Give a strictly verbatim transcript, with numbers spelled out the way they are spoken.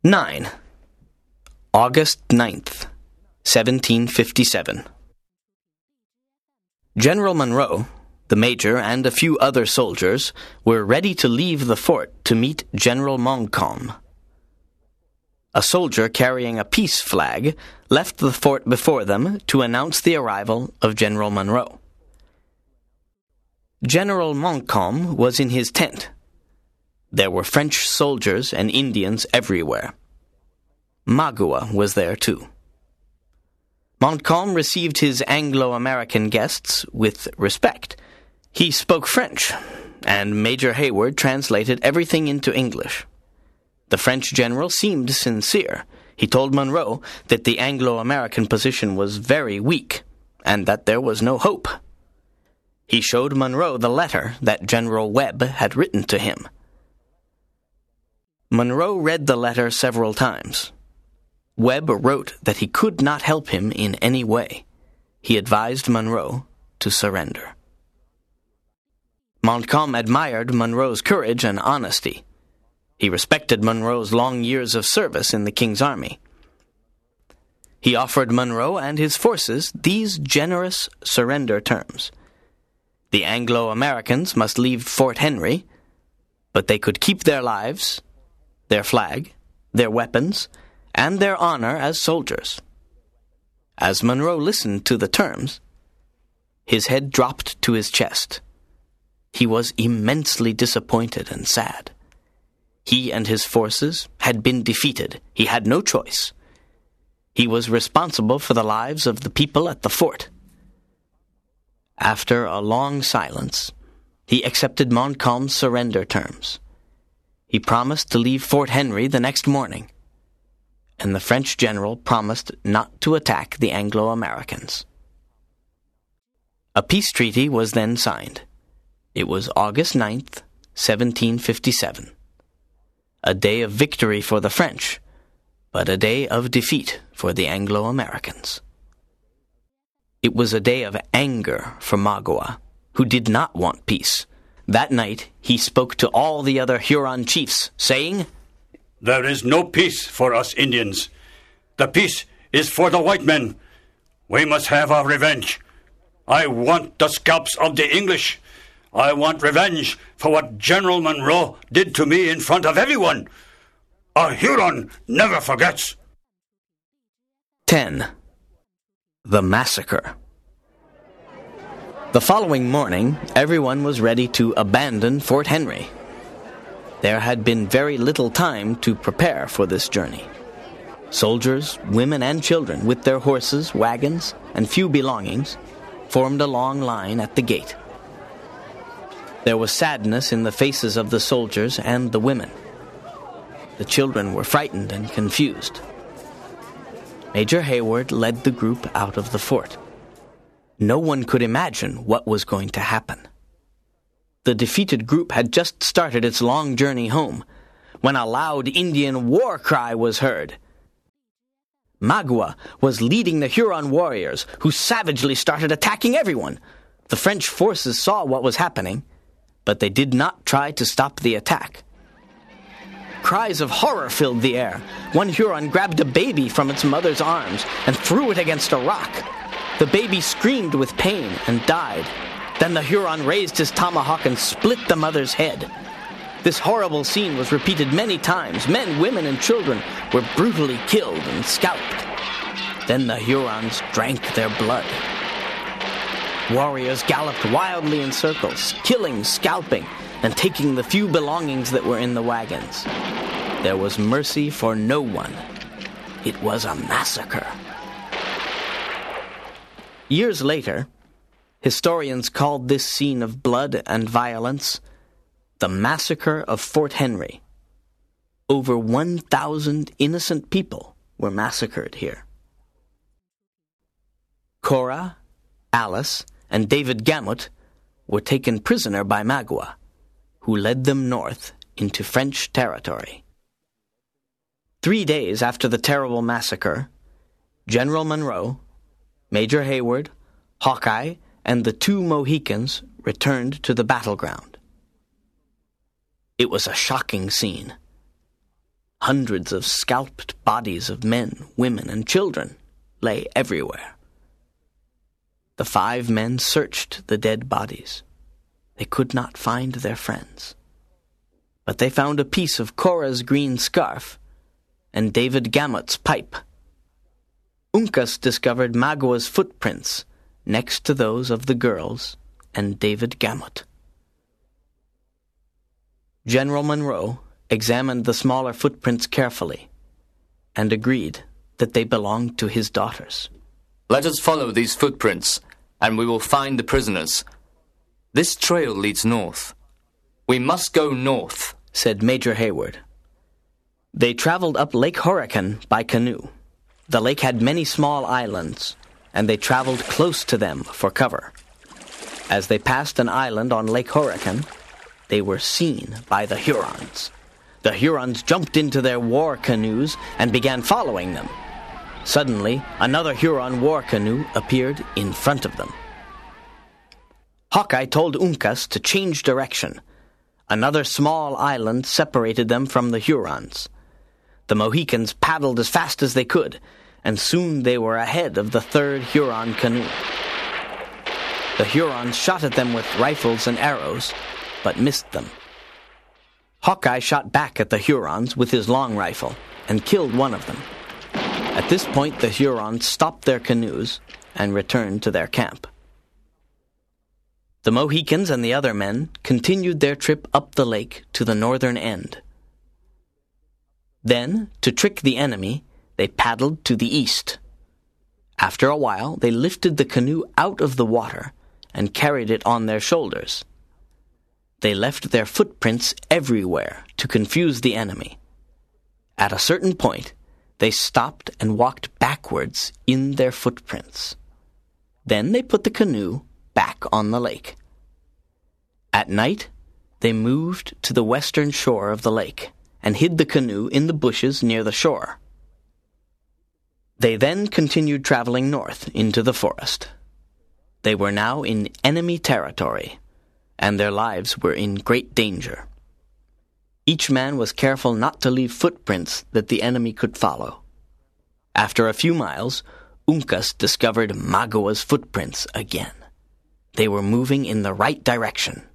nine. August ninth, seventeen fifty-seven. General Monroe, the major, and a few other soldiers were ready to leave the fort to meet General Montcalm. A soldier carrying a peace flag left the fort before them to announce the arrival of General Monroe. General Montcalm was in his tent. There were French soldiers and Indians everywhere. Magua was there too. Montcalm received his Anglo-American guests with respect. He spoke French, and Major Hayward translated everything into English. The French general seemed sincere. He told Monroe that the Anglo-American position was very weak, and that there was no hope. He showed Monroe the letter that General Webb had written to him. Monroe read the letter several times. Webb wrote that he could not help him in any way. He advised Monroe to surrender. Montcalm admired Monroe's courage and honesty. He respected Monroe's long years of service in the King's army. He offered Monroe and his forces these generous surrender terms. The Anglo-Americans must leave Fort Henry, but they could keep their lives, their flag, their weapons, and their honor as soldiers. As Monroe listened to the terms, his head dropped to his chest. He was immensely disappointed and sad. He and his forces had been defeated. He had no choice. He was responsible for the lives of the people at the fort. After a long silence, he accepted Montcalm's surrender terms. He promised to leave Fort Henry the next morning, and the French general promised not to attack the Anglo-Americans. A peace treaty was then signed. It was August ninth, seventeen fifty-seven. A day of victory for the French, but a day of defeat for the Anglo-Americans. It was a day of anger for Magua, who did not want peace. That night, he spoke to all the other Huron chiefs, saying, "There is no peace for us Indians. The peace is for the white men. We must have our revenge. I want the scalps of the English. I want revenge for what General Monroe did to me in front of everyone. A Huron never forgets." ten. The Massacre. The following morning, everyone was ready to abandon Fort Henry. There had been very little time to prepare for this journey. Soldiers, women, and children, with their horses, wagons, and few belongings, formed a long line at the gate. There was sadness in the faces of the soldiers and the women. The children were frightened and confused. Major Hayward led the group out of the fort. No one could imagine what was going to happen. The defeated group had just started its long journey home when a loud Indian war cry was heard. Magua was leading the Huron warriors, who savagely started attacking everyone. The French forces saw what was happening, but they did not try to stop the attack. Cries of horror filled the air. One Huron grabbed a baby from its mother's arms and threw it against a rock. The baby screamed with pain and died. Then the Huron raised his tomahawk and split the mother's head. This horrible scene was repeated many times. Men, women, and children were brutally killed and scalped. Then the Hurons drank their blood. Warriors galloped wildly in circles, killing, scalping, and taking the few belongings that were in the wagons. There was mercy for no one. It was a massacre. Years later, historians called this scene of blood and violence the Massacre of Fort Henry. Over one thousand innocent people were massacred here. Cora, Alice, and David Gamut were taken prisoner by Magua, who led them north into French territory. Three days after the terrible massacre, General Monroe, Major Hayward, Hawkeye, and the two Mohicans returned to the battleground. It was a shocking scene. Hundreds of scalped bodies of men, women, and children lay everywhere. The five men searched the dead bodies. They could not find their friends. But they found a piece of Cora's green scarf and David Gamut's pipe. Uncas discovered Magua's footprints next to those of the girls and David Gamut. General Monroe examined the smaller footprints carefully and agreed that they belonged to his daughters. Let us follow these footprints, and we will find the prisoners. This trail leads north. We must go north, said Major Hayward. They traveled up Lake Horican by canoe. The lake had many small islands, and they traveled close to them for cover. As they passed an island on Lake Horican, they were seen by the Hurons. The Hurons jumped into their war canoes and began following them. Suddenly, another Huron war canoe appeared in front of them. Hawkeye told Uncas to change direction. Another small island separated them from the Hurons. The Mohicans paddled as fast as they could, and soon they were ahead of the third Huron canoe. The Hurons shot at them with rifles and arrows, but missed them. Hawkeye shot back at the Hurons with his long rifle and killed one of them. At this point, the Hurons stopped their canoes and returned to their camp. The Mohicans and the other men continued their trip up the lake to the northern end. Then, to trick the enemy, they paddled to the east. After a while, they lifted the canoe out of the water and carried it on their shoulders. They left their footprints everywhere to confuse the enemy. At a certain point, they stopped and walked backwards in their footprints. Then they put the canoe back on the lake. At night, they moved to the western shore of the lake and hid the canoe in the bushes near the shore. They then continued traveling north into the forest. They were now in enemy territory, and their lives were in great danger. Each man was careful not to leave footprints that the enemy could follow. After a few miles, Uncas discovered Magua's footprints again. They were moving in the right direction.